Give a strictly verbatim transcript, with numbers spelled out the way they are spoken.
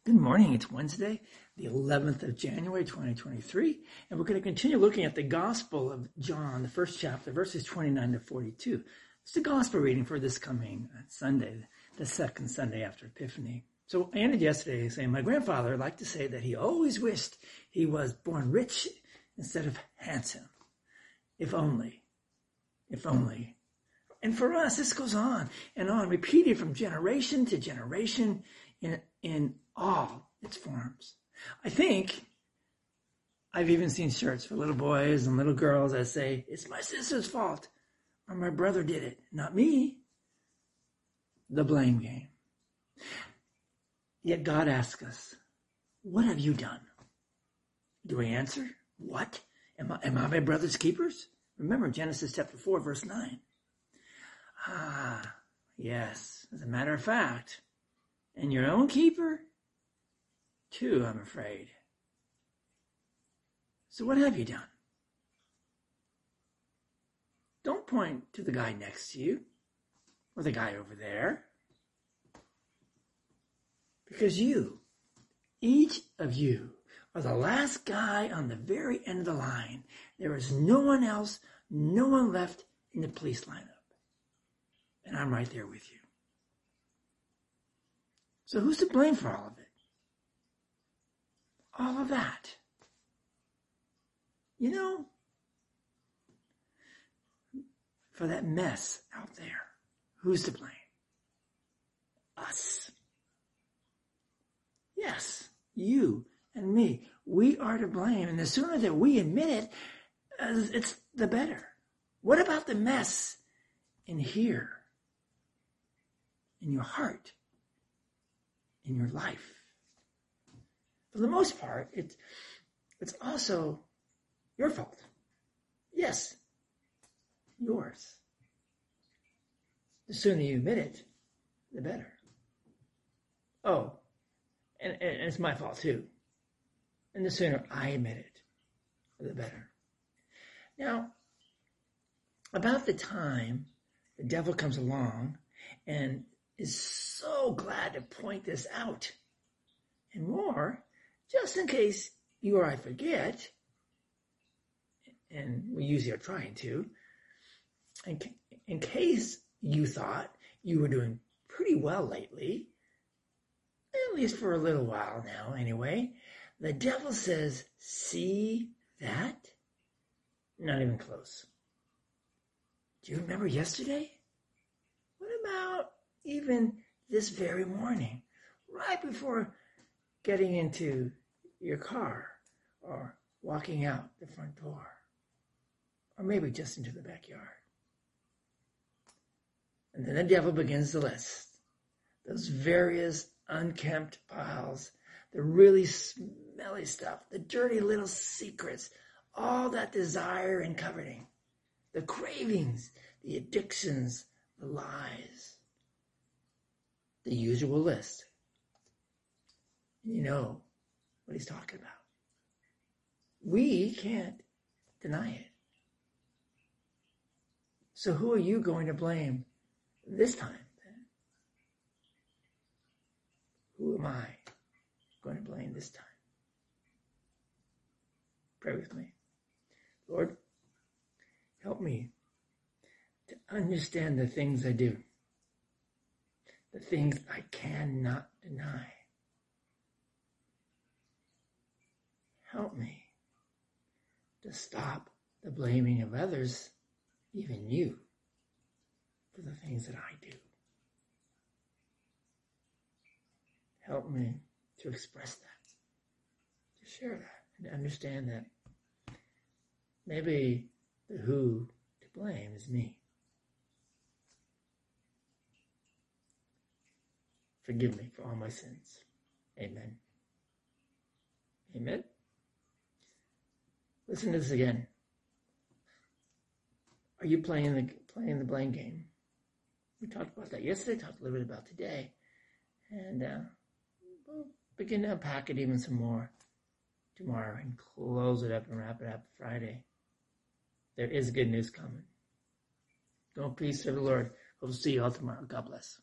Good morning. It's Wednesday, the eleventh of January, twenty twenty-three, and we're going to continue looking at the Gospel of John, the first chapter, verses twenty-nine to forty-two. It's the Gospel reading for this coming Sunday, the second Sunday after Epiphany. So I ended yesterday saying my grandfather liked to say that he always wished he was born rich instead of handsome. If only. If only. And for us, this goes on and on, repeated from generation to generation in, in all its forms. I think I've even seen shirts for little boys and little girls that say, it's my sister's fault, or my brother did it, not me. The blame game. Yet God asks us, what have you done? Do we answer? What? Am I, am I my brother's keepers? Remember Genesis chapter four, verse nine. Ah, yes, as a matter of fact, and your own keeper, too, I'm afraid. So what have you done? Don't point to the guy next to you or the guy over there. Because you, each of you, are the last guy on the very end of the line. There is no one else, no one left in the police lineup. And I'm right there with you. So who's to blame for all of it? All of that. You know, for that mess out there, who's to blame? Us. Yes, you and me. We are to blame. And the sooner that we admit it, uh, it's the better. What about the mess in here? In your heart? In your life? For the most part, it's, it's also your fault. Yes, yours. The sooner you admit it, the better. Oh, and, and it's my fault too. And the sooner I admit it, the better. Now, about the time the devil comes along and is so glad to point this out, and more, just in case you or I forget, and we usually are trying to, in, in case you thought you were doing pretty well lately, at least for a little while now anyway, the devil says, see that? Not even close. Do you remember yesterday? What about even this very morning, right before getting into your car or walking out the front door, or maybe just into the backyard? And then the devil begins to list those various unkempt piles, the really smelly stuff, the dirty little secrets, all that desire and coveting, the cravings, the addictions, the lies, the usual list. You know what he's talking about. We can't deny it. So who are you going to blame this time then? Who am I going to blame this time? Pray with me. Lord, help me to understand the things I do, the things I cannot deny. Help me to stop the blaming of others, even you, for the things that I do. Help me to express that, to share that, and to understand that maybe the who to blame is me. Forgive me for all my sins. Amen. Amen. Listen to this again. Are you playing the playing the blame game? We talked about that yesterday, talked a little bit about today. And uh, we'll begin to unpack it even some more tomorrow and close it up and wrap it up Friday. There is good news coming. Go in peace, serve the Lord. Hope to see you all tomorrow. God bless.